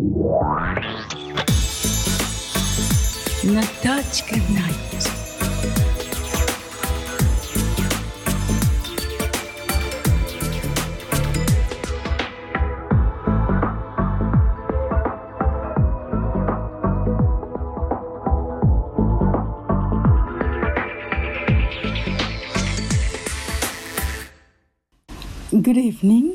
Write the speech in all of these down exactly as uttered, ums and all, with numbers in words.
Natachka Night. Good evening.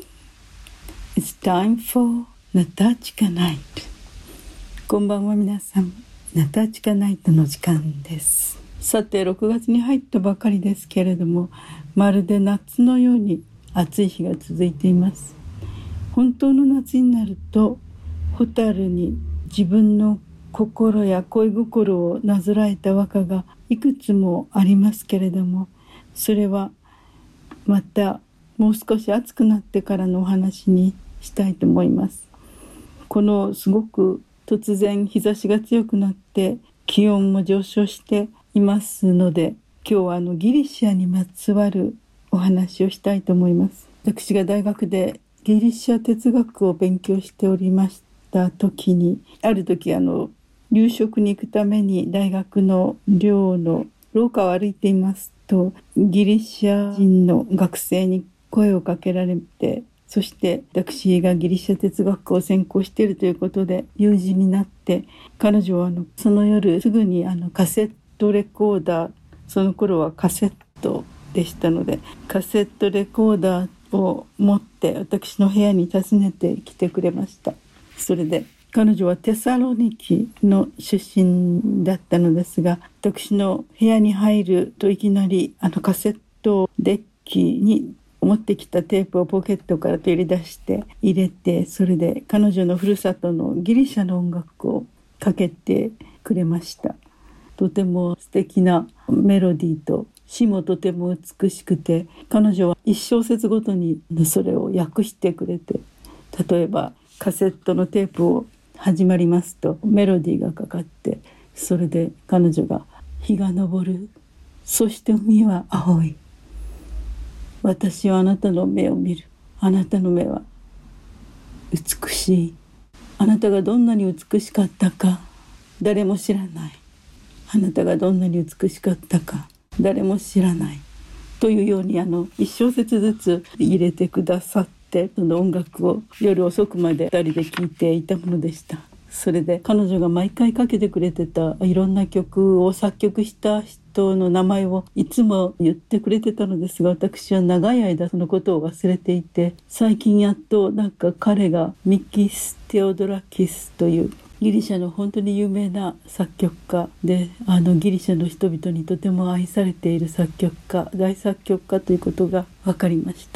It's time for Natachka Night. こんばんは皆さん。ナタチカナイトの時間です。さてろくがつに入ったばかりですけれども、まるで夏のように暑い日が続いています。本当の夏になると、ホタルに自分の心や恋心をなぞらえた和歌がいくつもありますけれども、それはまたもう少し暑くなってからのお話にしたいと思います。このすごく突然日差しが強くなって気温も上昇していますので、今日はあのギリシャにまつわるお話をしたいと思います。私が大学でギリシャ哲学を勉強しておりました時に、ある時あの留学に行くために大学の寮の廊下を歩いていますと、ギリシャ人の学生に声をかけられて、そして私がギリシャ哲学を専攻しているということで友人になって、彼女はあのその夜すぐにあのカセットレコーダー、その頃はカセットでしたので、カセットレコーダーを持って私の部屋に訪ねてきてくれました。それで彼女はテサロニキの出身だったのですが、私の部屋に入るといきなりあのカセットデッキに持ってきたテープをポケットから取り出して入れて、それで彼女のふるさとのギリシャの音楽をかけてくれました。とても素敵なメロディーと詩もとても美しくて、彼女は一小節ごとにそれを訳してくれて、例えばカセットのテープを始まりますとメロディーがかかって、それで彼女が日が昇る、そして海は青い、私はあなたの目を見る、あなたの目は美しい、あなたがどんなに美しかったか誰も知らない、あなたがどんなに美しかったか誰も知らないというように、あの一小節ずつ入れてくださって、その音楽を夜遅くまでふたりで聴いていたものでした。それで彼女が毎回かけてくれてたいろんな曲を作曲した人の名前をいつも言ってくれてたのですが、私は長い間そのことを忘れていて、最近やっとなんか彼がミキス・テオドラキスというギリシャの本当に有名な作曲家で、あのギリシャの人々にとても愛されている作曲家、大作曲家ということが分かりました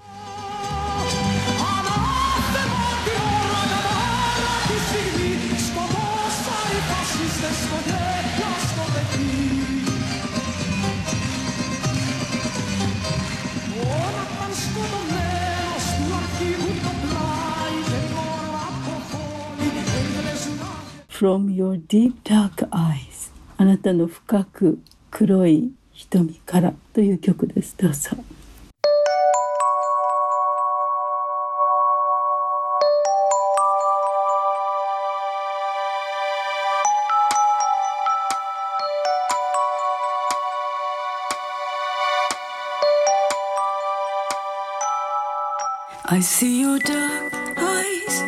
。From your deep dark eyes、 あなたの深く黒い瞳からという曲です。どうぞ。I see your dark eyes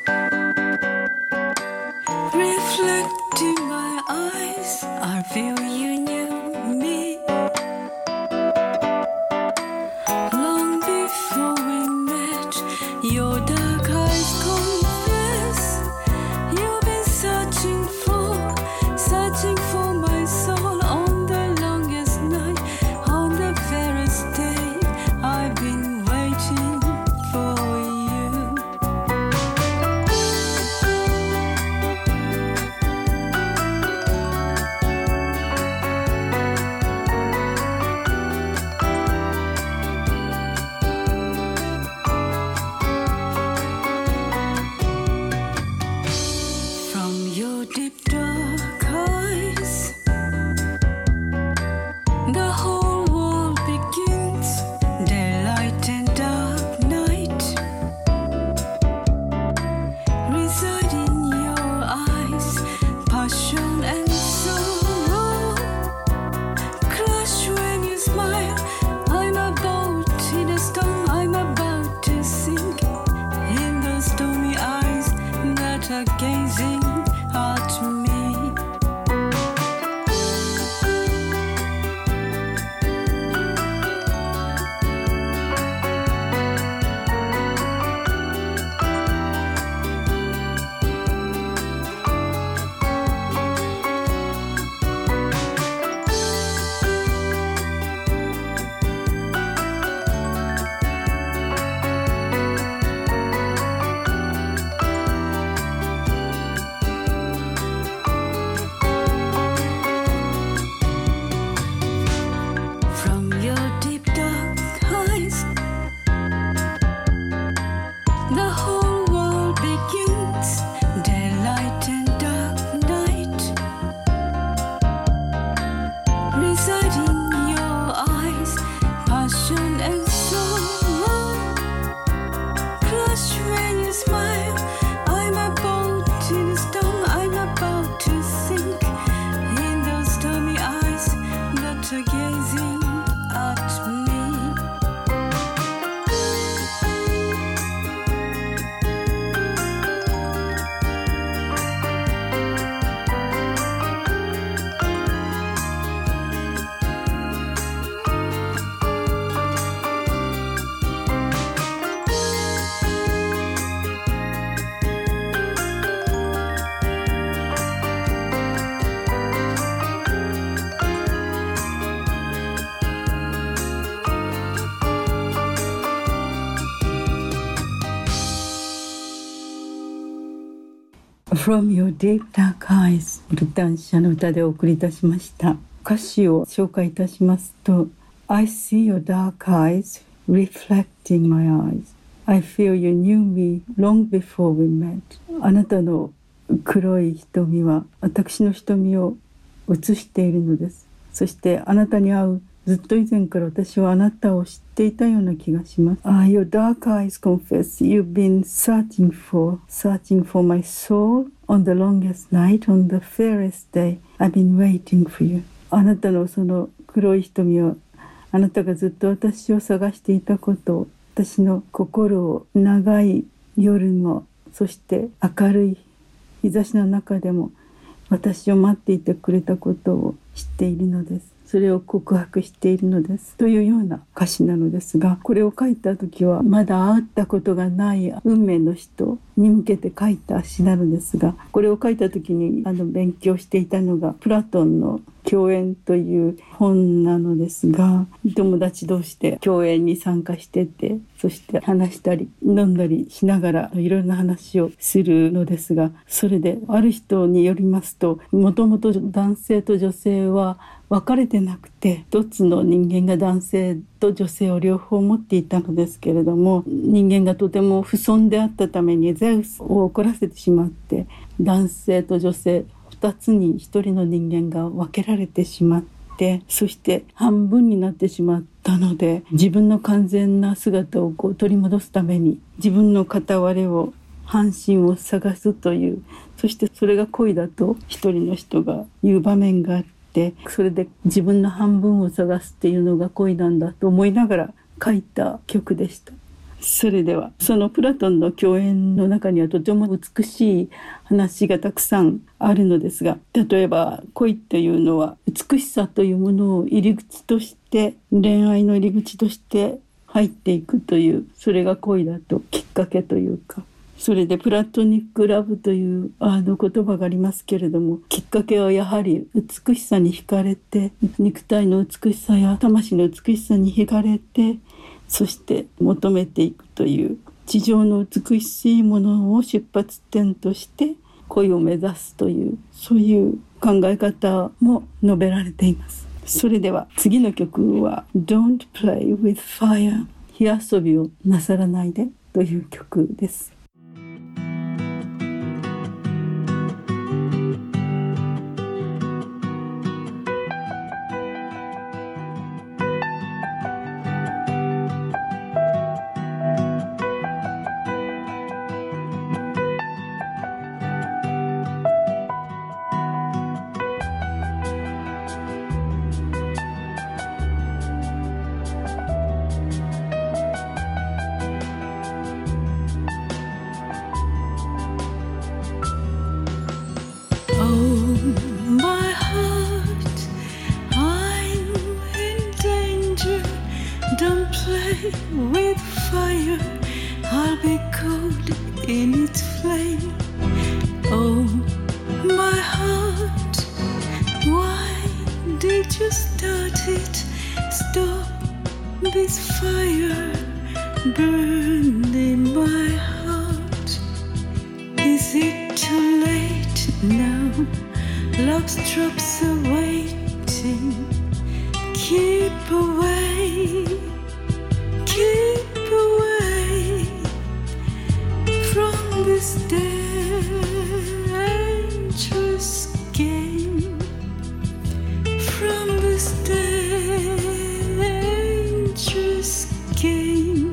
reflecting my eyes. I feel you knew me long before we met. Your dark eyes confess you've been searching for, searching for my soul on the longest night, on the fairest day. I've been waiting for you. are gazing at me. From Your Deep Dark Eyes ルタン社の歌でお送りいたしました。歌詞を紹介いたしますと I see your dark eyes reflecting my eyes I feel you knew me long before we met あなたの黒い瞳は私の瞳を映しているのです。そしてあなたに会うずっと以前から私はあなたを知っていたような気がします。Ah, your dark eyes confess you've been searching for, searching for my soul on the longest night, on the fairest day. I've been waiting for you. あなたのその黒い瞳はあなたがずっと私を探していたことを、私の心を長い夜も、そして明るい日差しの中でも私を待っていてくれたことを知っているのです。それを告白しているのですというような歌詞なのですが、これを書いた時はまだ会ったことがない運命の人に向けて書いた詩なのですが、これを書いた時にあの勉強していたのがプラトンの共演という本なのですが、友達同士で共演に参加してて、そして話したり飲んだりしながらいろいろな話をするのですが、それである人によりますと、もともと男性と女性は分かれてなくて一つの人間が男性と女性を両方持っていたのですけれども、人間がとても不遜であったためにゼウスを怒らせてしまって、男性と女性ふたつにひとりの人間が分けられてしまって、そして半分になってしまったので、自分の完全な姿をこう取り戻すために自分の片割れを半身を探すという、そしてそれが恋だと一人の人が言う場面があって、それで自分の半分を探すっていうのが恋なんだと思いながら書いた曲でした。それではそのプラトンの共演の中にはとても美しい話がたくさんあるのですが、例えば恋っていうのは美しさというものを入り口として、恋愛の入り口として入っていくという、それが恋だときっかけというか、それでプラトニックラブというあの言葉がありますけれども、きっかけはやはり美しさに惹かれて、肉体の美しさや魂の美しさに惹かれて、そして求めていくという地上の美しいものを出発点として恋を目指すという、そういう考え方も述べられています。それでは次の曲は Don't play with fire、 火遊びをなさらないでという曲です。 its flame. Oh, my heart, why did you start it? Stop this fire burning my heart. Is it too late now? Love's drops are waiting. Keep away, keep away from this dangerous game, from this dangerous game.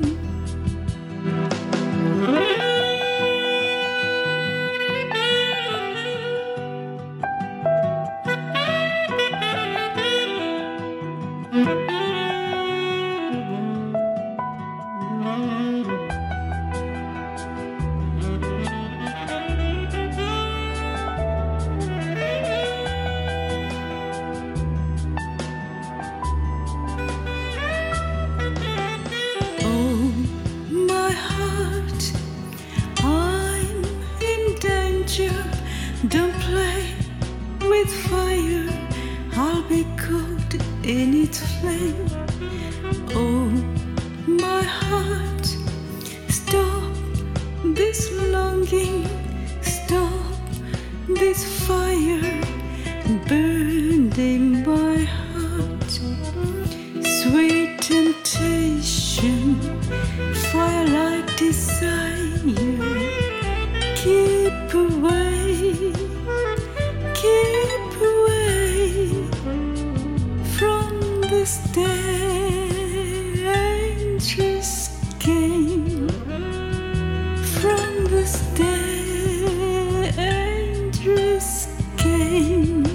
Don't play with fire, I'll be caught in its flame. Oh, my heart, stop this longing, stop this fire burning my heart. Sweet temptation, fire like desire. Keep away, keep away from this dangerous game, from this dangerous game.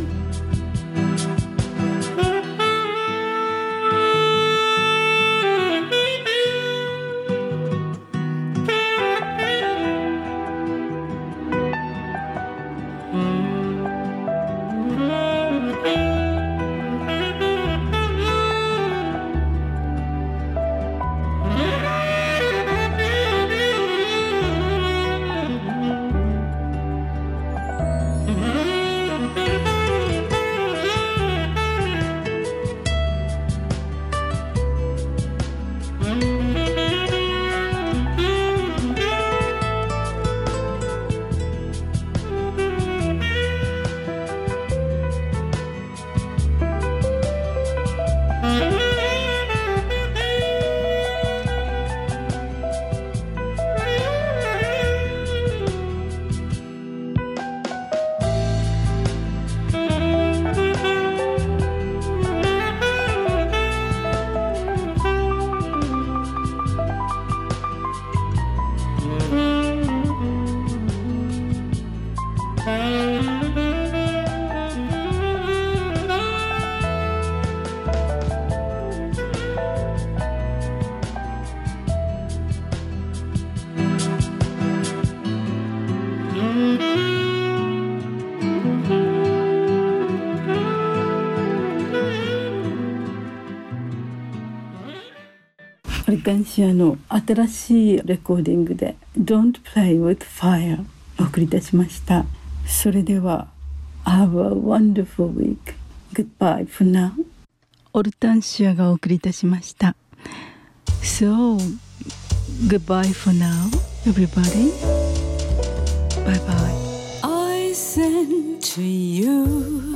オリカンシアの新しいレコーディングで Don't Play with Fire お送りいたしました。それでは Have a wonderful week. Goodbye for now. オルタンシアがお送りいたしました。So, goodbye for now, everybody. Bye bye. I send to you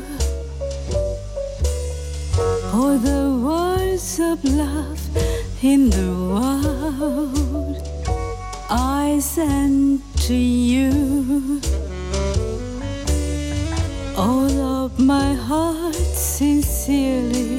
all the words of love.In the world, I send to you all of my heart sincerely.